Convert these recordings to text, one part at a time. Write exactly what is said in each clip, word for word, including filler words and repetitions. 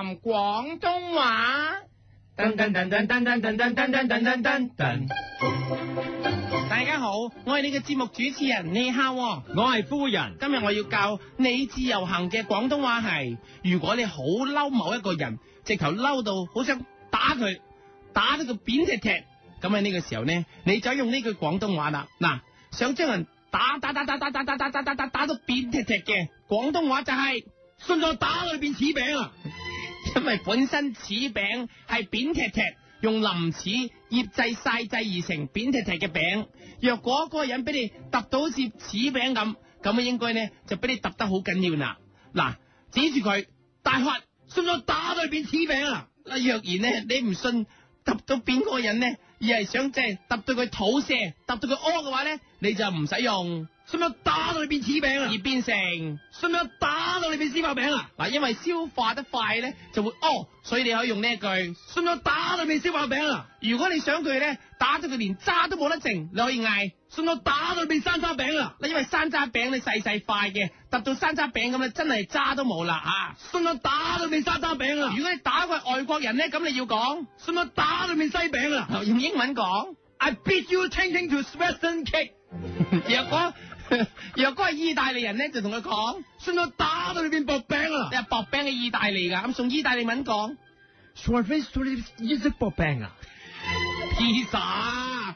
談廣東話。 噔噔噔噔噔噔噔噔噔噔噔噔噔。 大家好，我係你嘅節目主持人，你好，我係夫人。 今日我要教你自由行嘅廣東話係，如果你好嬲某一個人，直頭嬲到好想打佢，打到佢扁踢踢，咁喺呢個時候呢，你就用呢句廣東話啦。嗱，想將人打打打打打打打打打打打打到扁踢踢嘅廣東話就係、是、 信咗打裏邊柿餅啊！ 因為本身柿餅係扁踢踢，用林柿醃製曬製而成扁踢踢嘅餅。若果嗰個人俾你揼到好似柿餅咁，咁啊應該呢就俾你揼得好緊要啦。嗱，指住佢大喝，信咗打裏邊柿餅啊！嗱，若然呢你唔信揼到扁嗰個人呢，而係想即係揼到佢肚瀉，揼到佢屙嘅話呢，你就唔使用。信咗打到裏邊柿餅啊，而變成信咗打到裏邊絲瓜餅啊！嗱，因為消化得快咧，就會屙，所以你可以用呢一句信咗打到裏邊絲瓜餅啊！如果你想佢咧打到佢連渣都冇得剩，你可以嗌信咗打到裏邊山楂餅啊！嗱，因為山楂餅你細細塊嘅，揼到山楂餅咁咧，真係渣都冇啦啊！信咗打到裏邊山楂餅啊！如果你打個外國人咧，咁你要講信咗打到裏邊西餅啊！用英文講 I beat you changing to Western cake。若果若果係意大利人咧，就同佢講，信我打到裏邊薄餅啊！你係薄餅嘅意大利噶，咁送意大利文講， 信我 face 到你意式薄餅啊！ 披薩，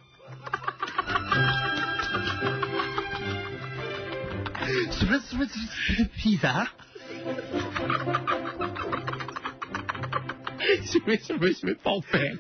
什麼什麼披薩？ 什麼什麼什麼薄餅？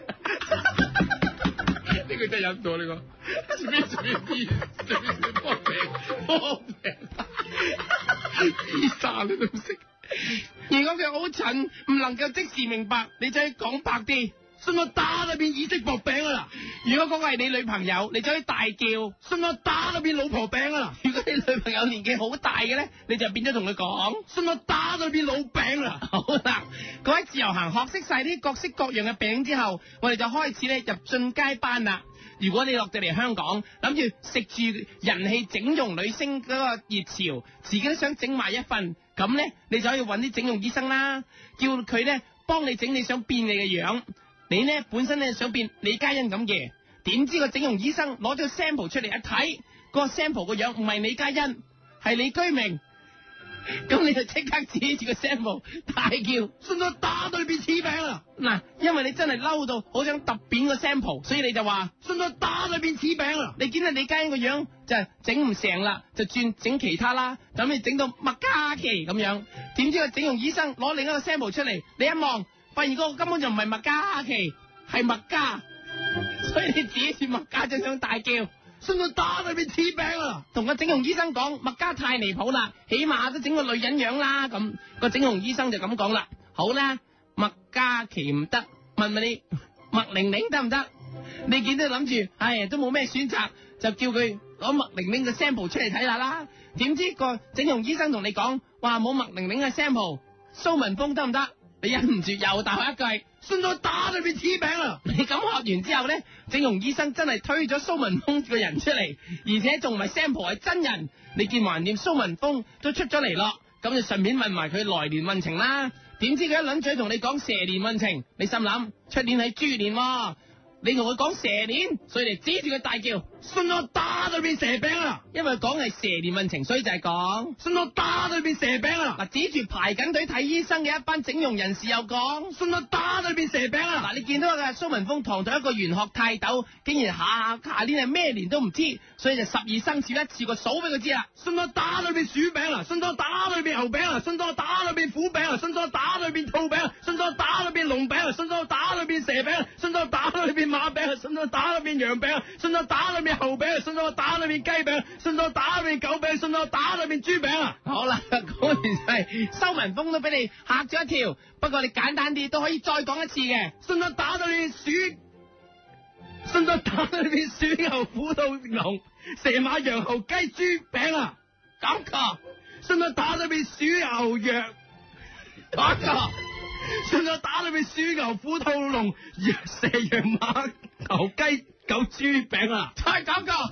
呢個真係飲到呢個，什麼什麼披，什麼什麼薄餅，薄餅，披薩你都唔識。如果佢好蠢，唔能夠即時明白，你就可以講白啲，信我打裏邊意式薄餅啊！如果嗰個係你女朋友，你就可以大叫，信我打裏邊老婆餅啊！如果你女朋友年紀好大嘅咧，你就變咗同佢講，信我打裏邊老餅啊！好啦，各位自由行學識晒啲各式各樣嘅餅之後，我哋就開始咧入進階班啦。如果你落到嚟香港，諗住食住人氣整容女星嗰個熱潮，自己都想整埋一份，咁咧你就可以揾啲整容醫生啦，叫佢咧幫你整你想變你嘅樣。你咧本身咧想變李嘉欣咁嘅，點知個整容醫生攞咗個 sample 出嚟一睇，個 sample 個樣唔係李嘉欣，係李居明。咁你就即刻指住個 sample 大叫，信我打到裏邊柿餅啊！嗱，因為你真係嬲到好想揼扁個 sample，所以你就話信我打裏邊柿餅啊！你見到李嘉欣個樣就係整唔成啦，就轉整其他啦，等你整到麥嘉琪咁樣。點知個整容醫生攞另一個 sample 出嚟，你一望發現嗰個根本就唔係麥嘉琪，係麥嘉，所以你指住麥嘉就想大叫。信我打裏邊柿餅啊！同個整容醫生講，麥嘉太離譜啦，起碼都整個女人樣啦。咁個整容醫生就咁講啦。好啦，麥嘉琪唔得，問問你麥玲玲得唔得？你見到諗住，唉，都冇咩選擇，就叫佢攞麥玲玲嘅 sample 出嚟睇下啦。點知個整容醫生同你講，話冇麥玲玲嘅 sample， 蘇文峰得唔得？你忍唔住又大喝一句，信我打裏邊柿餅啊！你咁喝完之後咧，整容醫生真係推咗蘇文峰個人出嚟，而且仲唔係 sample 係真人。你見橫掂蘇文峰都出咗嚟咯，咁就順便問埋佢來年運程啦。點知佢一輪嘴同你講蛇年運程，你心諗出年係豬年喎。你同佢講蛇年，所以你指住佢大叫，信我打裏邊蛇餅啊！因為講係蛇年運程，所以就係講信我打裏邊蛇餅啊！嗱，指住排緊隊睇醫生嘅一班整容人士又講信我打裏邊蛇餅啊！嗱，你見到嘅蘇文峰堂堂一個玄學泰斗，竟然下下年係咩年都唔知，所以就十二生肖一次過數俾佢知啦。信我打裏邊鼠餅啊！信我打裏邊牛餅啊！信我打裏邊虎餅啊！信我打裏邊兔餅啊！信我打裏邊龍餅啊！信我打裏邊蛇餅啊！信我打裏邊馬餅啊，信我打裏邊羊餅啊，信我打裏邊猴餅啊，信我打裏邊雞餅，信我打裏邊狗餅，信我打裏邊豬餅啊！好啦，講完係蘇文峰都俾你嚇咗一跳，不過你簡單啲都可以再講一次嘅，信我打裏邊鼠，信我打裏邊鼠牛虎兔龍蛇馬羊猴雞豬餅啊！咁個，信我打裏邊鼠牛羊，咁個。信我打裏邊鼠牛虎兔龍蛇羊馬牛雞狗豬餅啊！再講個，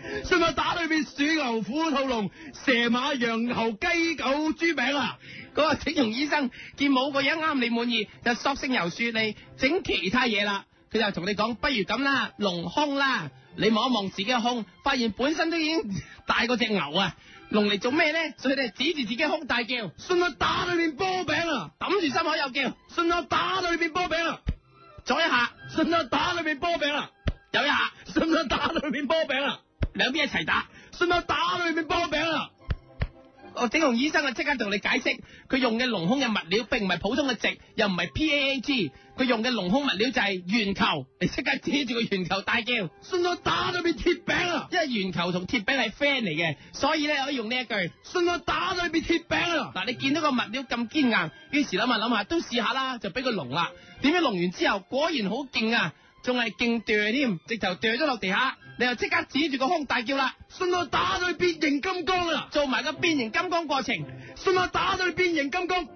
信我打到你變鼠牛虎兔龍蛇馬羊猴雞狗豬餅啊！ 嗰個整容醫生見冇個樣啱你滿意，就索性由樹嚟整其他嘢啦。佢就同你講，不如咁啦，隆胸啦。你望一望自己嘅胸，發現本身都已經大過隻牛啊！隆嚟做咩咧？所以你指住自己胸大叫， 信我打到你變波餅啊！ 抌住心口又叫， 信我打到你變波餅啊！ 左一下， 信我打到你變波餅啊！ 右一下， 信我打到你變波餅啊！ 兩邊一齊打， 信我打到你變波餅啊！ 我整容醫生啊，即刻同你解釋，佢用嘅隆胸嘅物料並唔係普通嘅直，又唔係 P A A G， 佢用嘅隆胸物料就係圓球。你即刻指住個圓球大叫， 信我打到變鐵餅啊！ 因為圓球同鐵餅係 friend 嚟嘅，所以咧可以用呢一句， 信我打到變鐵餅啊！ 嗱，你見到個物料咁堅硬，於是諗下諗下都試下啦，就俾佢隆啦。點知隆完之後果然好勁啊，仲係勁墮添，直頭墮咗落地下。你又即刻指住個胸大叫啦， 信我打到你變形金剛啊！ 做埋個變形金剛過程， 信我打到你變形金剛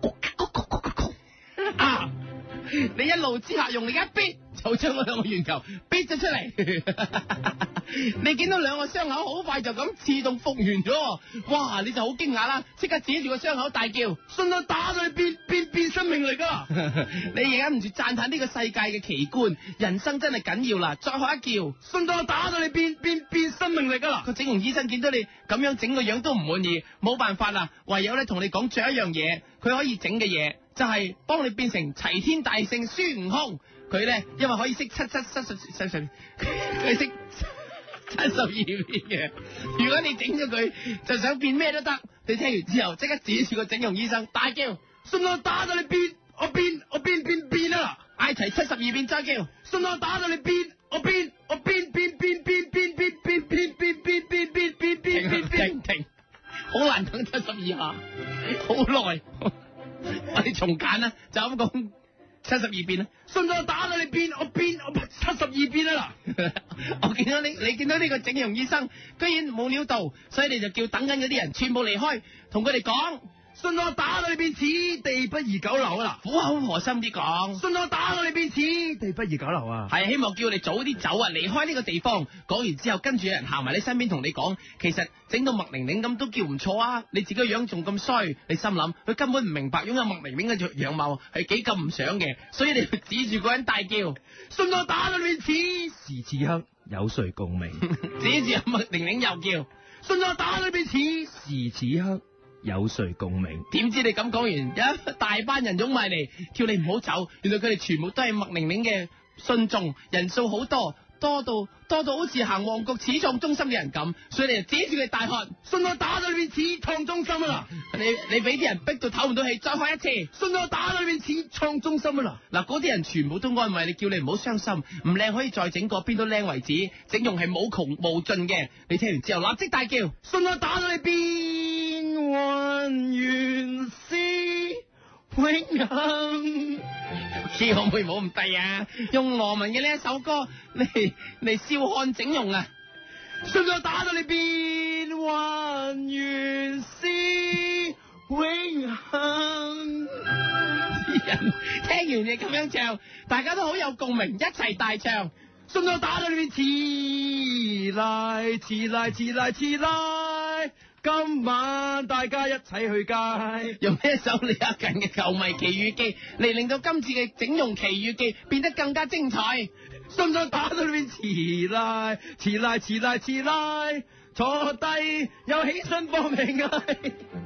啊！你一路之下用力一逼，就將嗰兩個圓球逼咗出嚟。你見到兩個傷口好快就咁自動復原咗，哇！你就好驚訝啦，即刻指住個傷口大叫， 信我打到你變變變生命力啊！ 你而家唔住讚嘆呢個世界嘅奇觀，人生真係緊要啦！再學一叫， 信我打到你變變變生命力啊！ 個整容醫生見到你咁樣整個樣都唔滿意，冇辦法啦，唯有咧同你講，仲有一樣嘢，佢可以整嘅嘢就係、是、幫你變成齊天大聖孫悟空。佢咧因為可以識七七七十七十，佢識七十二變嘅。如果你整咗佢，就想變咩都得。你聽完之後，即刻指住個整容醫生大叫， 信我打到你變，我變我變變變啊！ 嗌齊七十二變再叫， 信我打到你變，我變我變變變變變變變變變變變變變變變停停，好難等七十二下，好耐。我哋重簡啦，就咁講。七十二變啦， 信我打到你變，我變我七十二變啊！ 我見到你，你見到呢個整容醫生居然冇料到，所以你就叫等緊嗰啲人全部離開，同佢哋講， 信我打到你變，此地不宜久留啊！ 苦口婆心啲講， 信我打到你變，此地不宜久留啊！ 係希望叫你早啲走啊，離開呢個地方。講完之後，跟住有人行埋你身邊同你講，其實整到麥玲玲咁都叫唔錯啊！你自己個樣仲咁衰，你心諗佢根本唔明白擁有麥玲玲嘅樣貌係幾咁唔想嘅，所以你就指住個人大叫， 信我打到你變，此時此刻有誰共鳴？ 指住麥玲玲又叫， 信我打到你變，此時此刻有誰共鳴？ 點知你咁講完，有一大班人湧埋嚟，叫你唔好走。原來佢哋全部都係麥玲玲嘅信眾，人數好多，多到多到好似行旺角始創中心嘅人咁，所以你就指住佢大喝， 信我打到你變始創中心啊！ 你你俾啲人逼到唞唔到氣，再喝一次， 信我打到你變始創中心啊！ 嗱，嗰啲人全部都安慰你，叫你唔好傷心，唔靚可以再整過，邊都靚為止，整容係冇窮無盡嘅。你聽完之後立即大叫， 信我打到你變幻原是永恆。 你可唔可以唔好咁低啊？用羅文嘅呢一首歌嚟嚟笑看整容啊！ 信我打到你變幻原是永恆。 啲人聽完你咁樣唱，大家都好有共鳴，一齊大唱。 信我打到你變遲來遲來遲來遲來，今晚大家一齊去街。 用呢一首李克勤嘅《球迷奇遇記》嚟令到今次嘅整容奇遇記變得更加精彩。 信我打到你變遲來遲來遲來遲來，坐低又起身搏命嗌。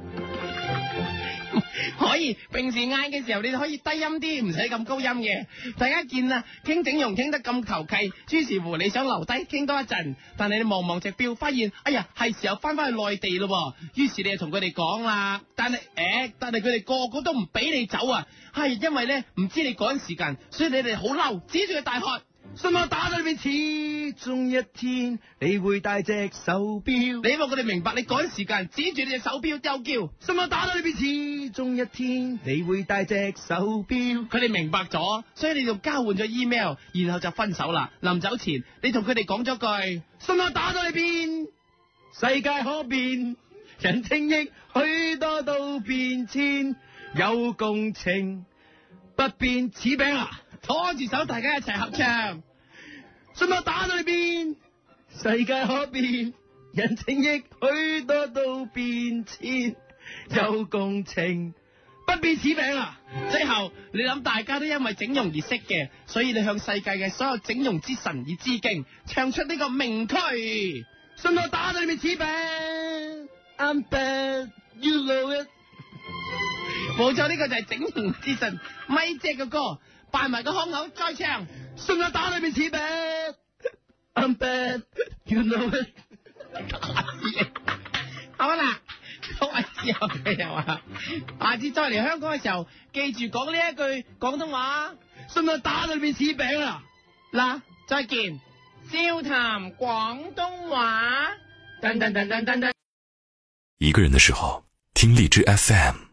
可以平時嗌嘅時候，你可以低音啲，唔使咁高音嘅。大家見啊，傾整容傾得咁求其，於是乎你想留低傾多一陣，但係你望望隻表，發現哎呀係時候翻翻去內地咯。於是你就同佢哋講啦，但係誒、欸，但係佢哋個個都唔俾你走啊，係因為咧唔知你趕時間，所以你哋好嬲，指住佢大喝。 信我打到你變，始終一天你會戴隻手錶。 你希望佢哋明白你趕時間，指住你隻手錶又叫。 信我打到你變，始終一天你會戴隻手錶。 佢哋明白咗，所以你就交換咗 email， 然後就分手啦。臨走前，你同佢哋講咗句： 信我打到你變，世界可變，人情亦許多都變遷，有共情不變此餅啊！ 拖住手，大家一齊合唱。 信我打到你變， 世界可變，人情亦許多都變遷，有共情，不變此餅啊！ 最後你諗大家都因為整容而識嘅，所以你向世界嘅所有整容之神而致敬，唱出呢個名曲， 信我打到你面此餅 I'm bad, you know it。 冇錯，呢個就係整容之神咪姐嘅歌，扮埋個腔口再唱， 信我打到你面此餅 I'm bad, you know it。 好啦，各位之後嘅又話，下次再嚟香港嘅時候，記住講呢一句廣東話， 信我打到你面此餅啊！ 嗱，再見，笑談廣東話。噔噔噔噔噔噔。 一個人的時候，聽荔枝 F M。